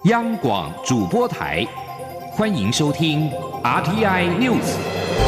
央广主播台，欢迎收听 RTI News。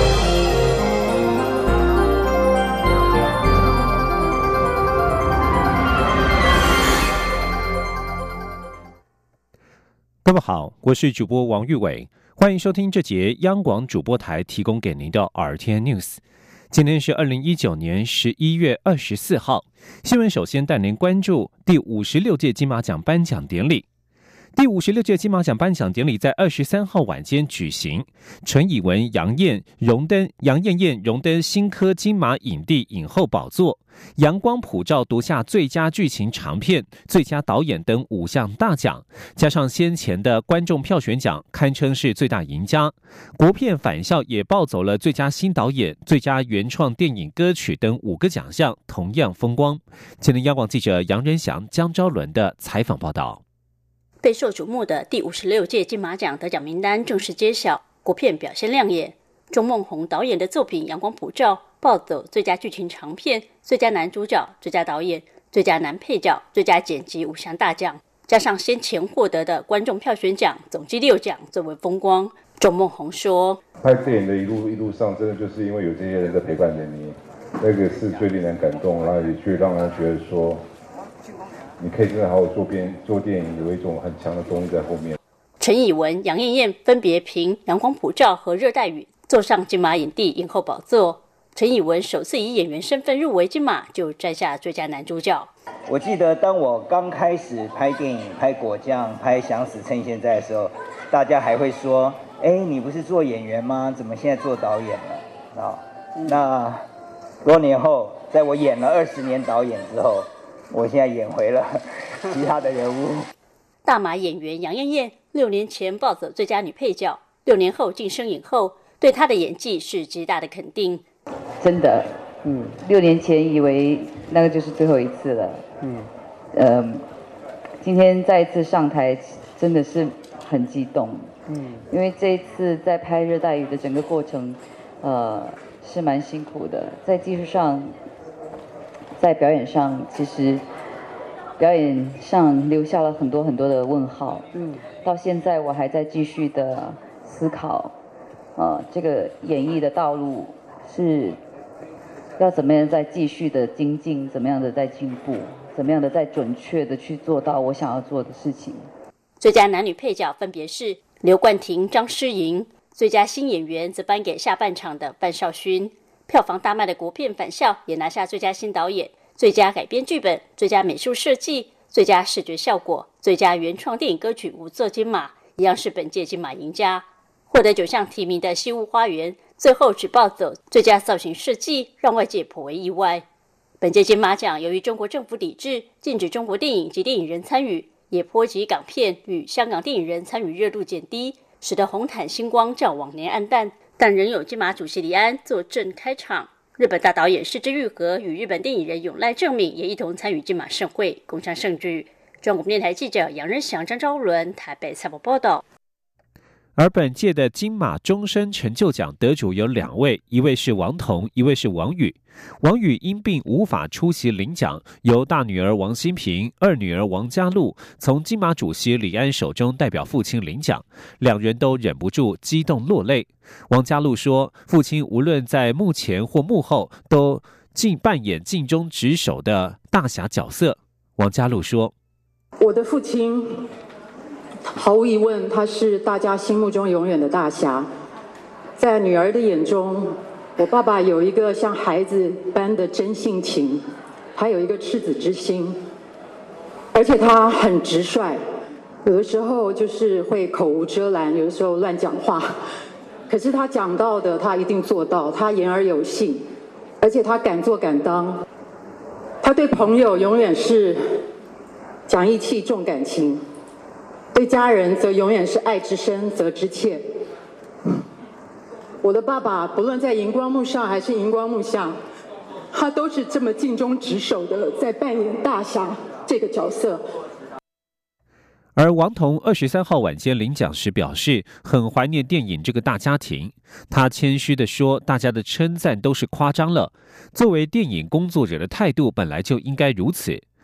各位好，我是主播王玉伟，欢迎收听这节央广主播台提供给您的 RTI News。今天是2019年11月24号，新闻首先带您关注第56届金马奖颁奖典礼。第56届金马奖颁奖典礼在23号晚间举行，陈以文、杨艳艳荣登新科金马影帝影后宝座，阳光普照夺下最佳剧情长片、最佳导演等5项大奖，加上先前的观众票选奖，堪称是最大赢家。国片返校也抱走了最佳新导演、最佳原创电影歌曲等5个奖项，同样风光。前天央广记者杨仁祥、江昭伦的采访报道。 备受瞩目的第56届金马奖得奖名单正式揭晓，国片表现亮眼。钟孟宏导演的作品《阳光普照》抱走最佳剧情长片、最佳男主角、最佳导演、最佳男配角、最佳剪辑5项大奖，加上先前获得的观众票选奖，总计6奖，最为风光。钟孟宏说：“ 拍电影的一路上，真的就是因为有这些人在陪伴着你，那个是最令人感动，然后也去让人觉得说。”你可以真的好好做电影，有一种很强的动力在后面。 陈以文、杨艳艳分别凭《阳光普照》和《热带雨》坐上金马影帝影后宝座。陈以文首次以演员身份入围金马，就摘下最佳男主角。 我记得当我刚开始拍电影、拍果酱、拍想死趁现在的时候，大家还会说：“哎，你不是做演员吗？怎么现在做导演了？”啊，那多年后，在我演了20年导演之后。我现在演回了其他的人物。 大马演员杨艳艳6年前抱走最佳女配角，6年后晋升影后，对她的演技是极大的肯定。 真的，6年前以为那个就是最后一次了。今天再一次上台，真的是很激动。因为这一次在拍《热带雨》的整个过程，是蛮辛苦的，在技术上。在表演上，其实表演上留下了很多的问号。到现在我还在继续的思考，这个演艺的道路是要怎么样再继续的精进，怎么样的再进步，怎么样的再准确的去做到我想要做的事情。 最佳男女配角分别是刘冠廷、张诗莹，最佳新演员则颁给下半场的范少勋。票房大卖的国片《返校》也拿下最佳新导演、最佳改编剧本、最佳美术设计、最佳视觉效果、最佳原创电影歌曲5座金马，一样是本届金马赢家。获得9项提名的《西屋花园》最后只抱走最佳造型设计，让外界颇为意外。本届金马奖由于中国政府抵制，禁止中国电影及电影人参与，也波及港片与香港电影人参与热度减低，使得红毯星光较往年暗淡。但仍有金马主席李安坐镇开场，日本大导演是枝裕和与日本电影人永濑正敏也一同参与金马盛会，共襄盛举。中国电台记者杨仁祥、张昭伦台北采访报道。 而本届的金马终身成就奖得主有2位，一位是王童，一位是王宇。王宇因病无法出席领奖，由大女儿王馨平、二女儿王嘉璐从金马主席李安手中代表父亲领奖，2人都忍不住激动落泪。王嘉璐说，父亲无论在幕前或幕后都扮演尽忠职守的大侠角色。王嘉璐说， 我的父亲毫无疑问，他是大家心目中永远的大侠。在女儿的眼中，我爸爸有一个像孩子般的真性情，还有一个赤子之心，而且他很直率，有的时候就是会口无遮拦，有的时候乱讲话。可是他讲到的，他一定做到，他言而有信，而且他敢做敢当。他对朋友永远是讲义气重感情，对家人则永远是爱之深责之切。我的爸爸不论在荧光幕上还是荧光幕下，他都是这么尽忠职守的在扮演大侠这个角色。 而王童23号晚间领奖时表示，很怀念电影这个大家庭。他谦虚地说，大家的称赞都是夸张了，作为电影工作者的态度本来就应该如此。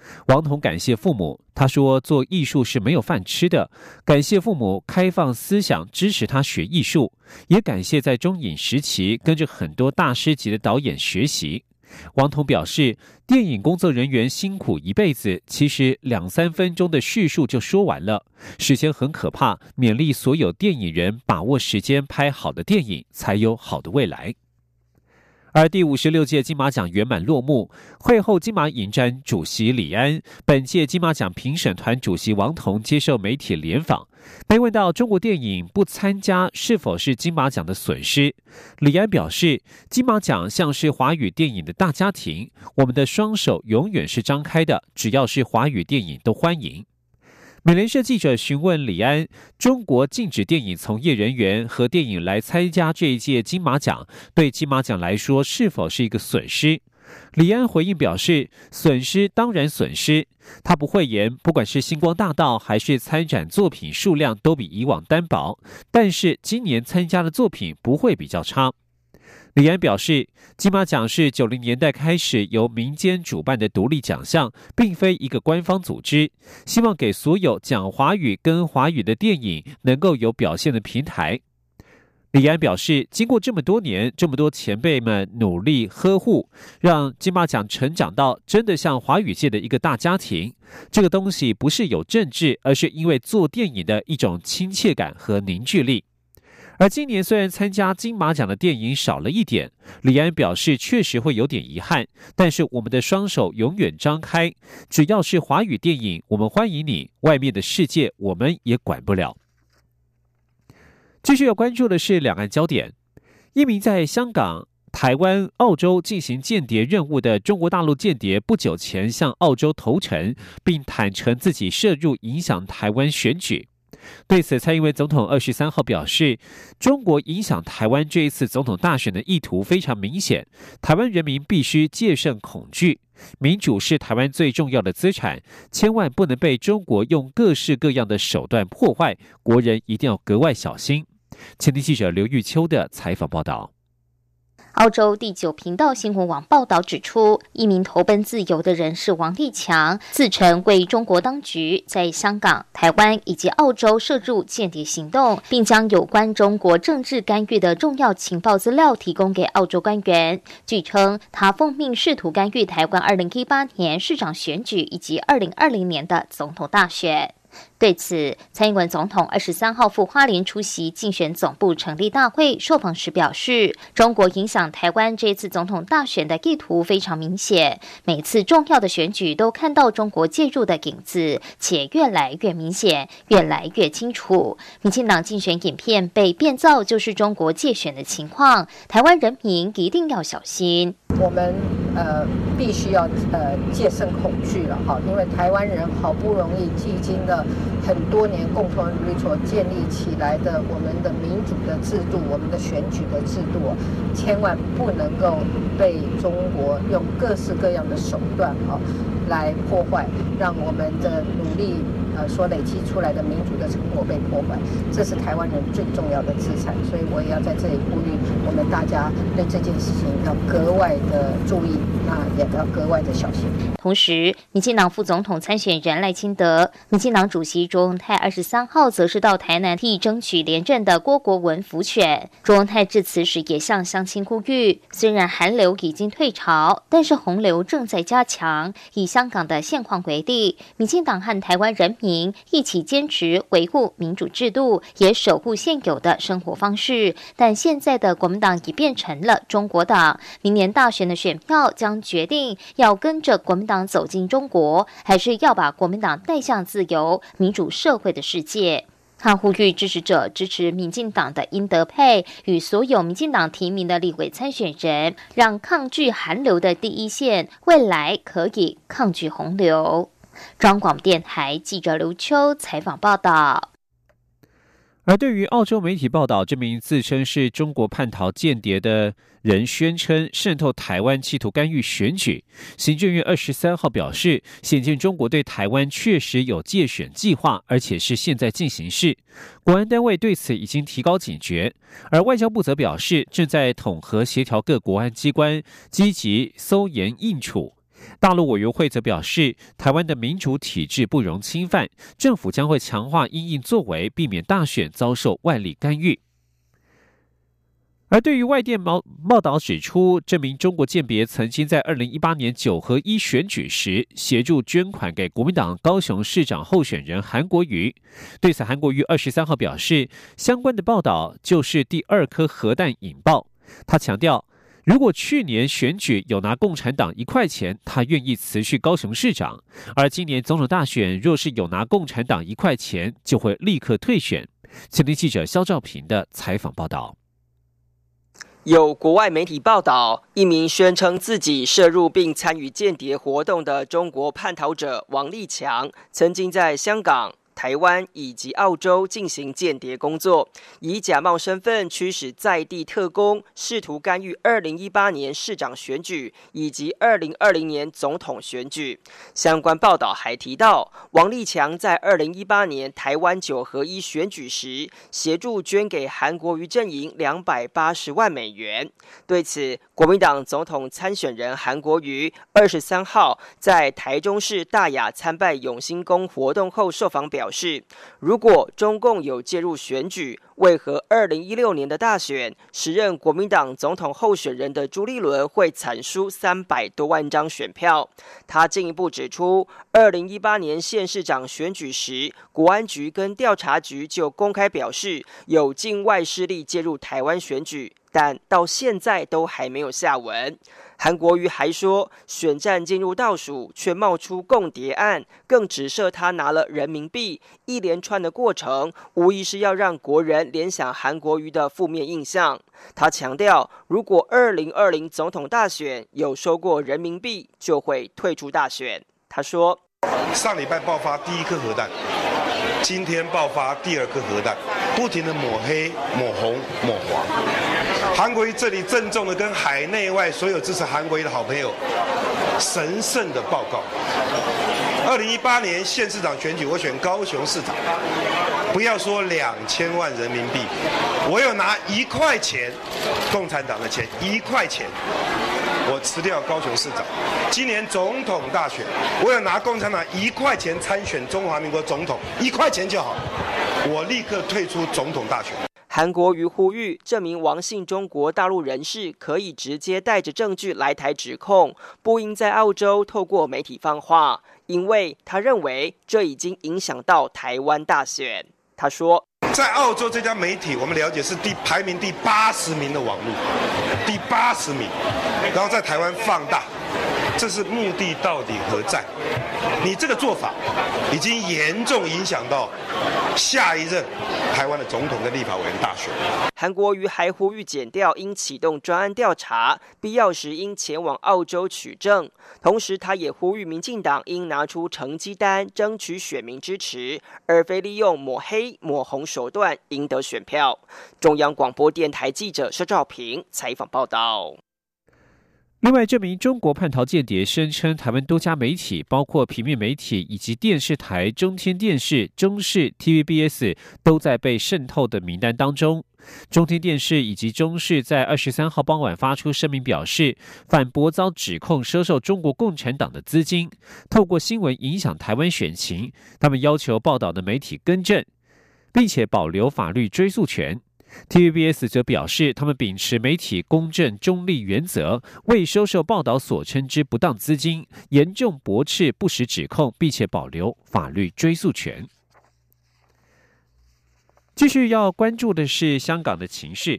王彤感谢父母，他说做艺术是没有饭吃的，感谢父母开放思想支持他学艺术，也感谢在中影时期跟着很多大师级的导演学习。王彤表示，电影工作人员辛苦一辈子，其实2-3分钟的叙述就说完了，时间很可怕，勉励所有电影人把握时间拍好的电影，才有好的未来。而第56届金马奖圆满落幕，会后金马影展主席李安、本届金马奖评审团主席王彤接受媒体联访，被问到中国电影不参加是否是金马奖的损失，李安表示，金马奖像是华语电影的大家庭，我们的双手永远是张开的，只要是华语电影都欢迎。美联社记者询问李安，中国禁止电影从业人员和电影来参加这一届金马奖，对金马奖来说是否是一个损失？李安回应表示，损失当然损失。他不讳言，不管是星光大道还是参展作品数量都比以往单薄，但是今年参加的作品不会比较差。李安表示，金马奖是90年代开始由民间主办的独立奖项，并非一个官方组织，希望给所有讲华语跟华语的电影能够有表现的平台。李安表示，经过这么多年，这么多前辈们努力呵护，让金马奖成长到真的像华语界的一个大家庭。这个东西不是有政治，而是因为做电影的一种亲切感和凝聚力。而今年虽然参加金马奖的电影少了一点，李安表示确实会有点遗憾，但是我们的双手永远张开，只要是华语电影，我们欢迎你，外面的世界我们也管不了。继续要关注的是两岸焦点，一名在香港、台湾、澳洲进行间谍任务的中国大陆间谍不久前向澳洲投诚，并坦诚自己涉入影响台湾选举。对此，蔡英文总统23号表示，中国影响台湾这一次总统大选的意图非常明显，台湾人民必须戒慎恐惧，民主是台湾最重要的资产，千万不能被中国用各式各样的手段破坏，国人一定要格外小心。前天记者刘玉秋的采访报道。 澳洲第9频道新闻网报道指出，一名投奔自由的人士王立强自称为中国当局在香港、台湾以及澳洲涉入间谍行动，并将有关中国政治干预的重要情报资料提供给澳洲官员。据称，他奉命试图干预台湾2018年市长选举以及2020年的总统大选。对此，蔡英文总统23号赴花莲出席竞选总部成立大会，受访时表示，中国影响台湾这次总统大选的意图非常明显，每次重要的选举都看到中国介入的影子，且越来越明显，越来越清楚。民进党竞选影片被变造就是中国介选的情况，台湾人民一定要小心。 我们必须要戒慎恐惧了哈，因为台湾人好不容易历经了很多年共同努力所建立起来的我们的民主的制度，我们的选举的制度，千万不能够被中国用各式各样的手段来破坏，让我们的努力所累积出来的民主的成果被破坏，这是台湾人最重要的资产。所以我也要在这里呼吁我们大家对这件事情要格外的注意，那也要格外的小心。 同时，民进党副总统参选人赖清德、民进党主席卓荣泰23号则是到台南替争取连任的郭国文辅选。卓荣泰致辞时也向乡亲呼吁，虽然寒流已经退潮，但是洪流正在加强。以香港的现况为例，民进党和台湾人民一起坚持维护民主制度，也守护现有的生活方式。但现在的国民党已变成了中国党，明年大选的选票将决定要跟着国民党走进中国，还是要把国民党带向自由民主社会的世界。他呼吁支持者支持民进党的殷德佩与所有民进党提名的立委参选人，让抗拒寒流的第一线未来可以抗拒洪流。中央广播电台记者刘秋采访报道。 而对于澳洲媒体报道，这名自称是中国叛逃间谍的人宣称渗透台湾，企图干预选举。行政院23号表示，显见中国对台湾确实有介选计划，而且是现在进行式。国安单位对此已经提高警觉，而外交部则表示，正在统合协调各国安机关，积极搜研应处。 大陆委员会则表示，台湾的民主体制不容侵犯，政府将会强化因应作为，避免大选遭受外力干预。而对于外电报道指出，这名中国间谍曾经在2018年9合1选举时协助捐款给国民党高雄市长候选人韩国瑜。对此，韩国瑜23号表示，相关的报道就是第2颗核弹引爆。他强调，如果去年选举有拿共产党1块钱，他愿意辞去高雄市长；而今年总统大选若是有拿共产党1块钱，就会立刻退选。前天记者肖兆平的采访报道。 有国外媒体报道，一名宣称自己涉入并参与间谍活动的中国叛逃者王立强，曾经在香港、台湾以及澳洲进行间谍工作，以假冒身份驱使在地特工，试图干预2018年市长选举以及2020年总统选举。相关报道还提到，王立强在2018年台湾9合1选举时，协助捐给韩国瑜阵营280万美元。对此，国民党总统参选人韩国瑜23号在台中市大雅参拜永兴宫活动后受访表示，如果中共有介入选举，为何2016年的大选，时任国民党总统候选人的朱立伦会惨输300多万张选票？他进一步指出，2018年县市长选举时，国安局跟调查局就公开表示有境外势力介入台湾选举，但到现在都还没有下文。韩国瑜还说，选战进入倒数，却冒出共谍案，更指涉他拿了人民币，一连串的过程，无疑是要让国人联想韩国瑜的负面印象。他强调，如果2020总统大选有收过人民币，就会退出大选。他说， 上礼拜爆发第1颗核弹，今天爆发第2颗核弹，不停的抹黑、抹红、抹黄。韩国瑜这里郑重的跟海内外所有支持韩国瑜的好朋友神圣的报告：2018年县市长选举，我选高雄市长，不要说2000万人民币，我有拿1块钱，共产党的钱1块钱，我辞掉高雄市长。今年总统大选，我有拿共产党1块钱参选中华民国总统，1块钱就好，我立刻退出总统大选。 韩国瑜呼吁，这名王姓中国大陆人士可以直接带着证据来台指控，不应在澳洲透过媒体放话，因为他认为这已经影响到台湾大选。他说， 在澳洲这家媒体，我们了解是排名第80名的网络，第80名，然后在台湾放大，这是目的到底何在？你这个做法已经严重影响到下一任台湾的总统跟立法委员大选。 韩国瑜还呼吁检调应启动专案调查，必要时应前往澳洲取证。同时，他也呼吁民进党应拿出成绩单，争取选民支持，而非利用抹黑、抹红手段赢得选票。中央广播电台记者施兆平采访报道。 另外，这名中国叛逃间谍声称，台湾多家媒体，包括平面媒体以及电视台中天电视、中视、TVBS 都在被渗透的名单当中。中天电视以及中视在23号傍晚发出声明表示，反驳遭指控收受中国共产党的资金，透过新闻影响台湾选情。他们要求报道的媒体更正，并且保留法律追诉权。TVBS 则表示，他们秉持媒体公正中立原则，为收受报道所称之不当资金，严重驳斥不实指控，并且保留法律追诉权。继续要关注的是香港的情势。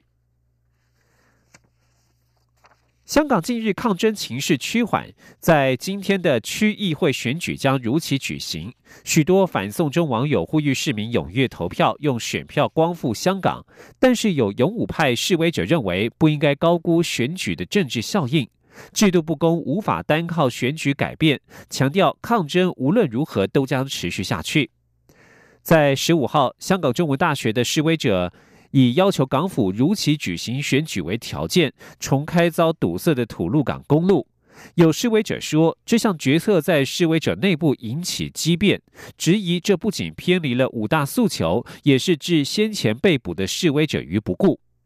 香港近日抗争情势趋缓，在今天的区议会选举将如期举行。许多反送中网友呼吁市民踊跃投票，用选票光复香港。但是有勇武派示威者认为，不应该高估选举的政治效应，制度不公无法单靠选举改变，强调抗争无论如何都将持续下去。在15号，香港中文大学的示威者以要求港府如期举行选举为条件，重开遭堵塞的吐露港公路。有示威者说，这项决策在示威者内部引起激辩，质疑这不仅偏离了5大诉求，也是置先前被捕的示威者于不顾。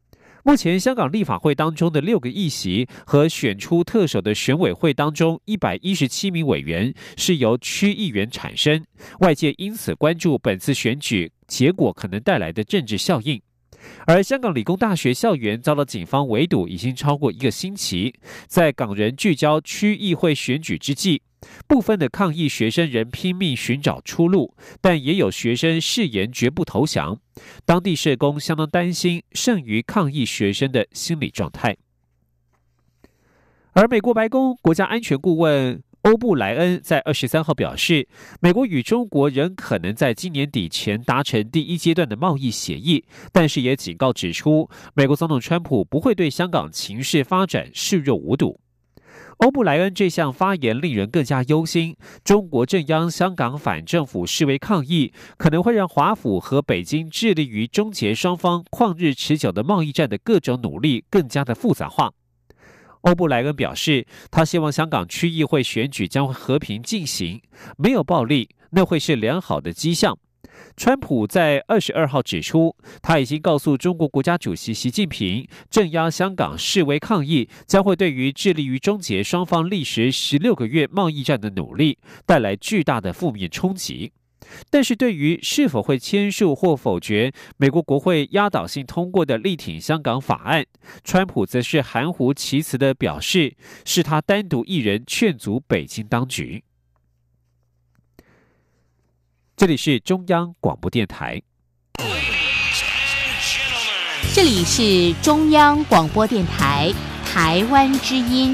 目前香港立法会当中的6个议席和选出特首的选委会当中117名委员是由区议员产生，外界因此关注本次选举结果可能带来的政治效应。而香港理工大学校园遭到警方围堵已经超过1个星期，在港人聚焦区议会选举之际，部分的抗议学生仍拼命寻找出路，但也有学生誓言绝不投降。当地社工相当担心剩余抗议学生的心理状态。而美国白宫国家安全顾问欧布莱恩在23号表示，美国与中国仍可能在今年底前达成第1阶段的贸易协议，但是也警告指出，美国总统川普不会对香港情势发展视若无睹。欧布莱恩这项发言令人更加忧心，中国镇压香港反政府示威抗议，可能会让华府和北京致力于终结双方旷日持久的贸易战的各种努力更加的复杂化。欧布莱恩表示，他希望香港区议会选举将会和平进行，没有暴力，那会是良好的迹象。川普在22号指出，他已经告诉中国国家主席习近平，镇压香港示威抗议将会对于致力于终结双方历时16个月贸易战的努力带来巨大的负面冲击。但是对于是否会签署或否决美国国会压倒性通过的力挺香港法案，川普则是含糊其辞地表示，是他单独一人劝阻北京当局。这里是中央广播电台。 这里是中央广播电台台湾之音。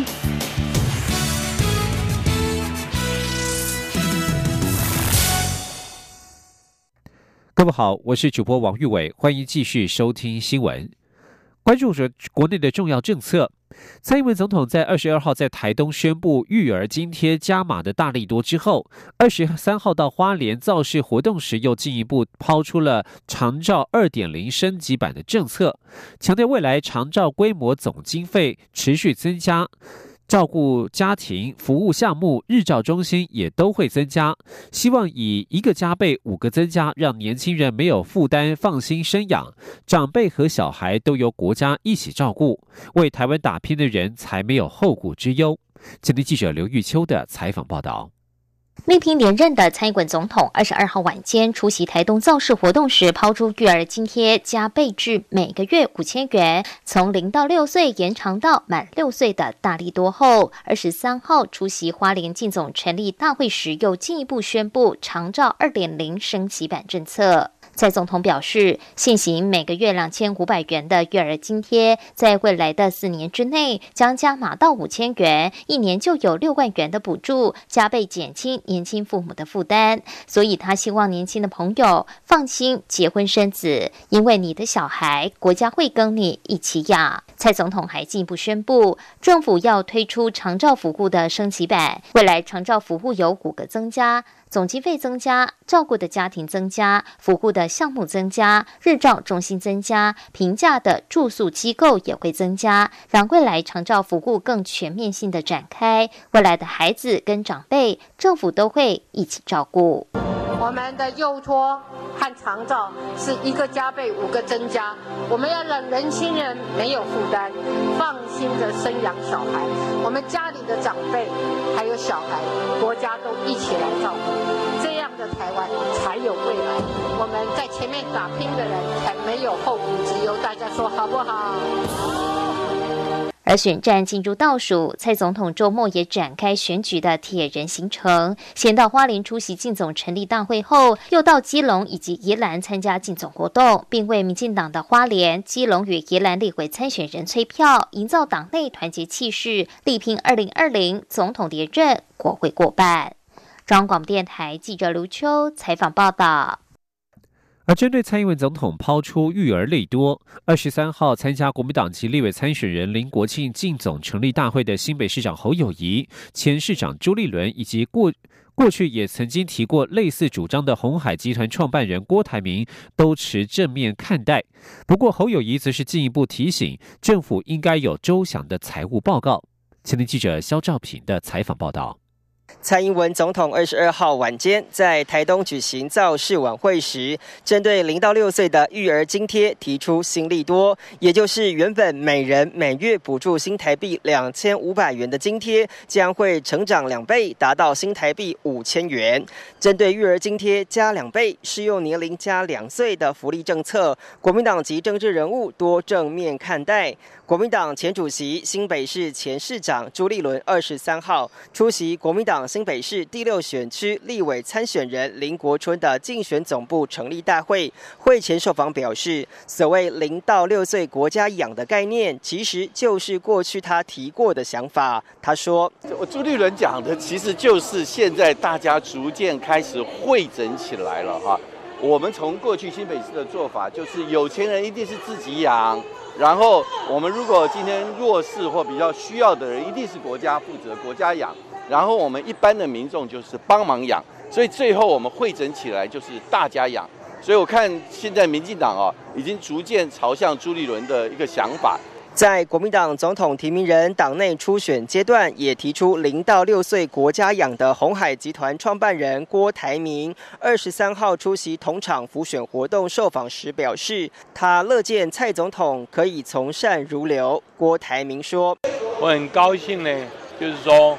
各位好，我是主播王玉伟，欢迎继续收听新闻。关注着国内的重要政策，蔡英文总统在22号在台东宣布育儿津贴加码的大利多之后，23号到花莲造势活动时，又进一步抛出了长照 2.0 升级版的政策，强调未来长照规模总经费持续增加，照顾家庭服务项目日照中心也都会增加，希望以1个加倍5个增加，让年轻人没有负担放心生养，长辈和小孩都由国家一起照顾，为台湾打拼的人才没有后顾之忧。今天记者刘玉秋的采访报道。 力拼连任的蔡英文总统22号晚间出席台东造势活动时，抛出育儿津贴加倍至每个月5000元，从0到6岁延长到满6岁的大利多后，23号出席花莲进总成立大会时，又进一步宣布长照 2.0 升级版政策。蔡总统表示，现行每个月2500元的育儿津贴，在未来的4年之内将加码到5000元，一年就有6万元的补助，加倍减轻年轻父母的负担。所以他希望年轻的朋友放心结婚生子，因为你的小孩国家会跟你一起养。蔡总统还进一步宣布，政府要推出长照服务的升级版，未来长照服务有5个增加，总经费增加，照顾的家庭增加，服务的项目增加，日照中心增加，平价的住宿机构也会增加，让未来长照服务更全面性的展开。未来的孩子跟长辈，政府都会一起照顾。 我们的幼托和长照是1个加倍5个增加，我们要让年轻人没有负担，放心的生养小孩。我们家里的长辈还有小孩，国家都一起来照顾，这样的台湾才有未来。我们在前面打拼的人才没有后顾之忧，大家说好不好？ 而选战进入倒数，蔡总统周末也展开选举的铁人行程，先到花莲出席进总成立大会后，又到基隆以及宜兰参加进总活动，并为民进党的花莲、基隆与宜兰立委参选人催票，营造党内团结气势，力拼2020总统连任，国会过半。中央广播电台记者卢秋采访报道。 而针对蔡英文总统抛出育儿利多，23号参加国民党籍立委参选人林国庆进总成立大会的新北市长侯友宜、前市长朱立伦，以及过去也曾经提过类似主张的鸿海集团创办人郭台铭，都持正面看待。不过侯友宜则是进一步提醒，政府应该有周详的财务报告。前天记者肖兆平的采访报道。 蔡英文总统22号晚间在台东举行造势晚会时，针对0到6岁的育儿津贴提出新利多，也就是原本每人每月补助新台币2500元的津贴，将会成长2倍，达到新台币5000元。针对育儿津贴加2倍、适用年龄加2岁的福利政策，国民党及政治人物多正面看待。国民党前主席、新北市前市长朱立伦23号出席国民党新北市第6选区立委参选人林国春的竞选总部成立大会，会前受访表示，所谓0到6岁国家养的概念，其实就是过去他提过的想法。他说， 朱立伦讲的其实就是现在大家逐渐开始汇整起来了哈。我们从过去新北市的做法，就是有钱人一定是自己养，然后我们如果今天弱势或比较需要的人，一定是国家负责，国家养，然后我们一般的民众就是帮忙养，所以最后我们汇整起来就是大家养。所以我看现在民进党已经逐渐朝向朱立伦的一个想法。 在国民党总统提名人党内初选阶段，也提出0到6岁国家养的鸿海集团创办人郭台铭23号出席同场辅选活动受访时表示，他乐见蔡总统可以从善如流。郭台铭说， 我很高兴呢，就是说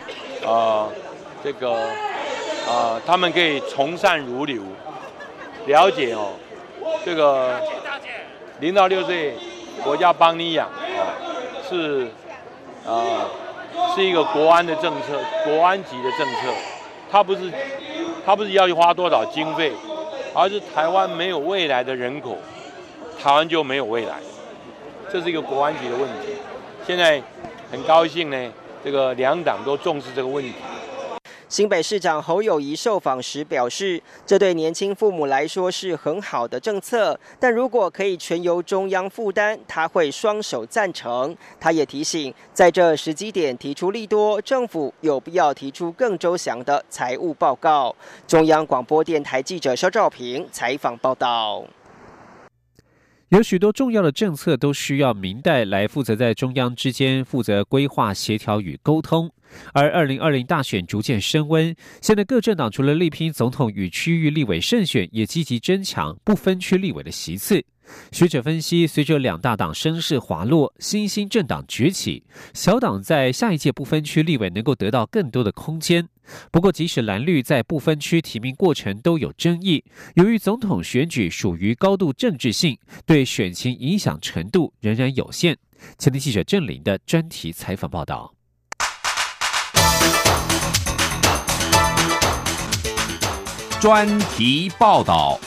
他们可以从善如流，了解这个0到6岁国家帮你养是一个国安的政策，国安级的政策。它不是要花多少经费，而是台湾没有未来的人口，台湾就没有未来，这是一个国安级的问题。现在很高兴呢，这个两党都重视这个问题。 新北市长侯友宜受访时表示，这对年轻父母来说是很好的政策，但如果可以全由中央负担，他会双手赞成。他也提醒，在这时机点提出利多，政府有必要提出更周详的财务报告。中央广播电台记者肖兆平采访报道。 有许多重要的政策都需要民代来负责在中央之间负责规划、协调与沟通。而2020大选逐渐升温，现在各政党除了力拼总统与区域立委胜选，也积极争抢不分区立委的席次。学者分析，随着两大党声势滑落，新兴政党崛起，小党在下一届不分区立委能够得到更多的空间。不过，即使蓝绿在不分区提名过程都有争议，由于总统选举属于高度政治性，对选情影响程度仍然有限。前天记者郑玲的专题采访报道。 专题报道。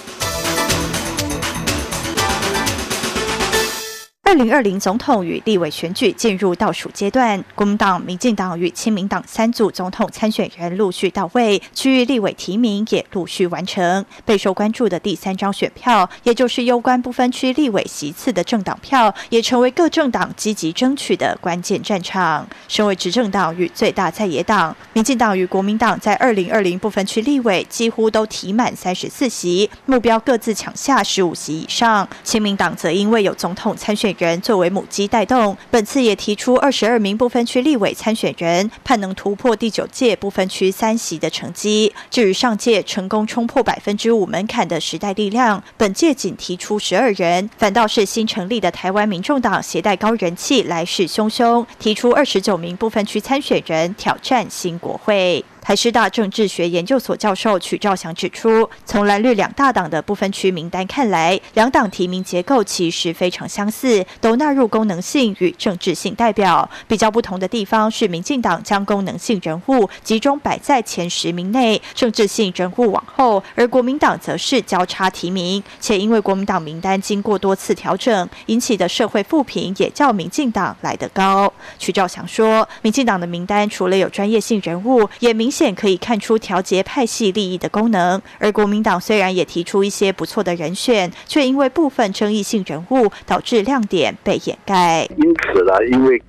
2020总统与立委选举进入倒数阶段，国民党、民进党与亲民党3组总统参选人陆续到位，区域立委提名也陆续完成。备受关注的第3张选票，也就是攸关不分区立委席次的政党票，也成为各政党积极争取的关键战场。身为执政党与最大在野党，民进党与国民党在2020不分区立委几乎都提满34席，目标各自抢下15席以上。亲民党则因为有总统参选人作为母鸡带动，本次也提出22名不分区立委参选人，盼能突破第9届不分区3席的成绩。至于上届成功冲破5%门槛的时代力量，本届仅提出12人，反倒是新成立的台湾民众党携带高人气，来势汹汹，提出29名不分区参选人挑战新国会。台师大政治学研究所教授曲兆祥指出，从蓝绿两大党的不分区名单看来，两党提名结构其实非常相似，都纳入功能性与政治性代表。比较不同的地方是，民进党将功能性人物集中摆在前10名内，政治性人物往后，而国民党则是交叉提名，且因为国民党名单经过多次调整，引起的社会负评也较民进党来得高。曲兆祥说，民进党的名单除了有专业性人物，也明显可以看出调节派系利益的功能，而国民党虽然也提出一些不错的人选，却因为部分争议性人物导致亮点被掩盖。 因此呢，因为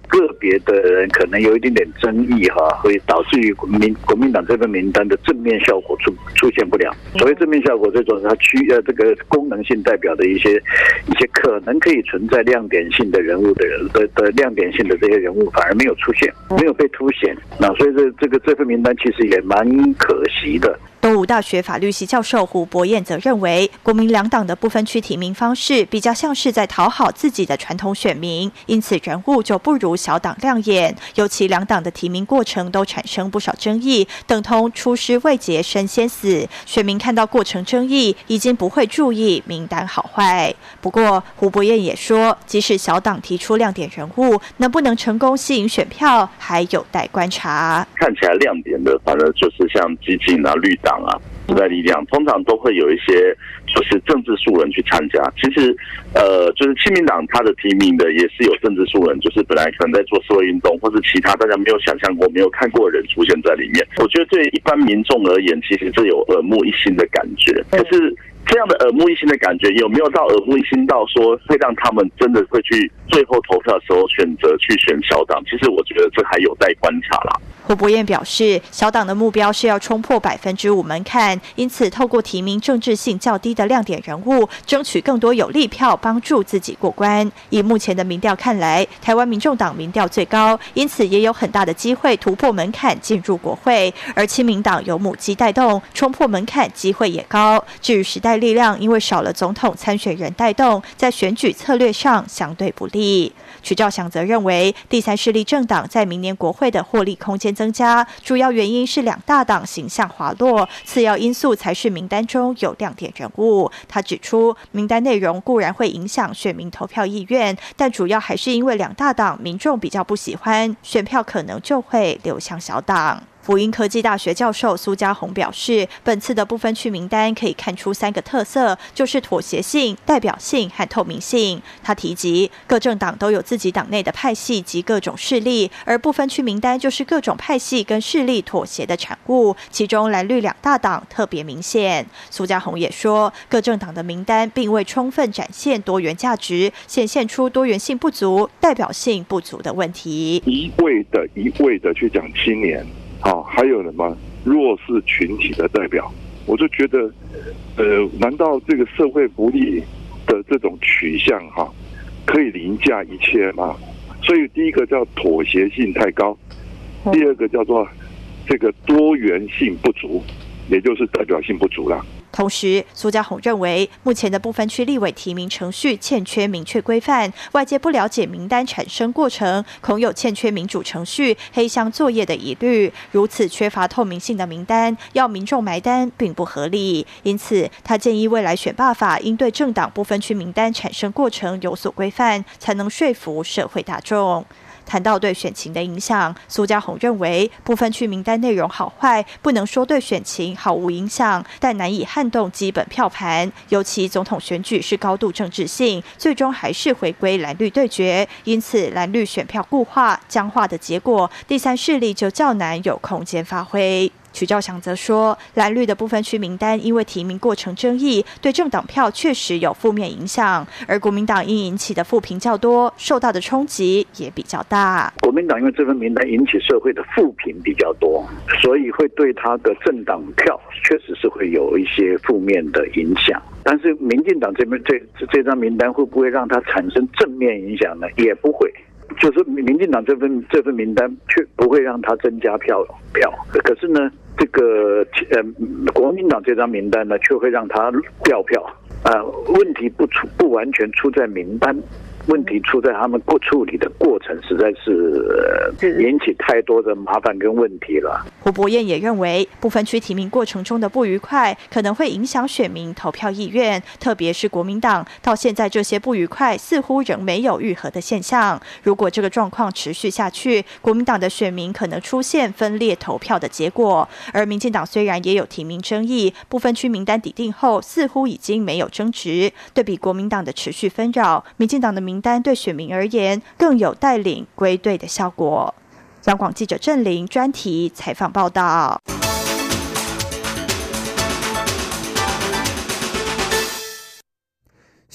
个别的人可能有一点点争议会导致于国民党这份名单的正面效果出现不了。所谓正面效果，这种它这个功能性代表的一些可能可以存在亮点性的人物的亮点性的这些人物反而没有出现，没有被凸显。那所以这份名单其实也蛮可惜的。 东吴大学法律系教授胡博彦则认为，国民两党的不分区提名方式比较像是在讨好自己的传统选民，因此人物就不如小党亮眼。尤其两党的提名过程都产生不少争议，等同出师未捷身先死。选民看到过程争议，已经不会注意名单好坏。不过，胡博彦也说，即使小党提出亮点人物，能不能成功吸引选票，还有待观察。 看起来亮点的，反正就是像基进啊、绿党啊、时代力量，通常都会有一些就是政治素人去参加。其实，就是亲民党他的提名的也是有政治素人，就是本来可能在做社会运动或是其他大家没有想象过、没有看过的人出现在里面。我觉得对一般民众而言，其实这有耳目一新的感觉。可是这样的耳目一新的感觉，有没有到耳目一新到说会让他们真的会去最后投票的时候选择去选小党？其实我觉得这还有待观察啦。 胡博彦表示，小党的目标是要冲破5%门槛，因此透过提名政治性较低的亮点人物，争取更多有利票，帮助自己过关。以目前的民调看来，台湾民众党民调最高，因此也有很大的机会突破门槛进入国会。而亲民党有母鸡带动，冲破门槛机会也高。至于时代力量，因为少了总统参选人带动，在选举策略上相对不利。曲兆祥则认为，第三势力政党在明年国会的获利空间增加，主要原因是两大党形象滑落，次要因素才是名单中有亮点人物。他指出，名单内容固然会影响选民投票意愿，但主要还是因为两大党民众比较不喜欢，选票可能就会流向小党。辅英科技大学教授苏家宏表示，本次的不分区名单可以看出3个特色，就是妥协性、代表性和透明性。他提及，各政党都有自己党内的派系及各种势力，而不分区名单就是各种派系跟势力妥协的产物，其中蓝绿两大党特别明显。苏家宏也说，各政党的名单并未充分展现多元价值，显现出多元性不足、代表性不足的问题。 一味的去讲青年。还有什么弱势群体的代表？我就觉得，难道这个社会福利的这种取向可以凌驾一切吗？所以第一个叫妥协性太高，第二个叫做这个多元性不足，也就是代表性不足了。 同时，苏家宏认为，目前的不分区立委提名程序欠缺明确规范，外界不了解名单产生过程，恐有欠缺民主程序、黑箱作业的疑虑。如此缺乏透明性的名单，要民众买单并不合理。因此，他建议未来选罢法应对政党不分区名单产生过程有所规范，才能说服社会大众。谈到对选情的影响，苏家宏认为，不分区名单内容好坏不能说对选情毫无影响，但难以撼动基本票盘。尤其总统选举是高度政治性，最终还是回归蓝绿对决，因此蓝绿选票固化、僵化的结果，第三势力就较难有空间发挥。曲兆祥则说，蓝绿的不分区名单因为提名过程争议，对政党票确实有负面影响，而国民党因引起的负评较多，受到的冲击也比较大。 国民党因为这份名单引起社会的负评比较多，所以会对他的政党票确实是会有一些负面的影响。但是民进党这张名单会不会让它产生正面影响呢？也不会。就是民进党这份名单却不会让它增加票，可是呢，这个国民党这张名单呢，却会让它掉票。问题不完全出在名单，问题出在他们处理的过程，实在是引起太多的麻烦跟问题了。 胡博彦也认为，不分区提名过程中的不愉快可能会影响选民投票意愿，特别是国民党到现在这些不愉快似乎仍没有愈合的现象。如果这个状况持续下去，国民党的选民可能出现分裂投票的结果。而民进党虽然也有提名争议，不分区名单底定后似乎已经没有争执。对比国民党的持续纷扰，民进党的名单对选民而言更有带领归队的效果。央广记者郑玲专题采访报道。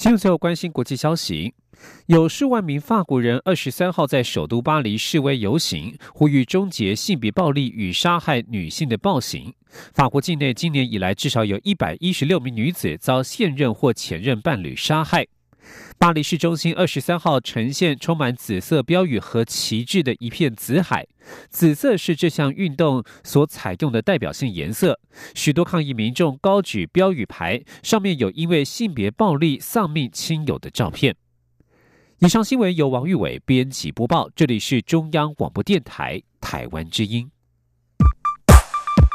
新闻最后关心国际消息，有数万名法国人23号在首都巴黎示威游行，呼吁终结性别暴力与杀害女性的暴行。法国境内今年以来至少有116名女子遭现任或前任伴侣杀害。巴黎市中心23号呈现充满紫色标语和旗帜的一片紫海，紫色是这项运动所采用的代表性颜色。许多抗议民众高举标语牌，上面有因为性别暴力丧命亲友的照片。以上新闻由王玉伟编辑播报，这里是中央广播电台台湾之音。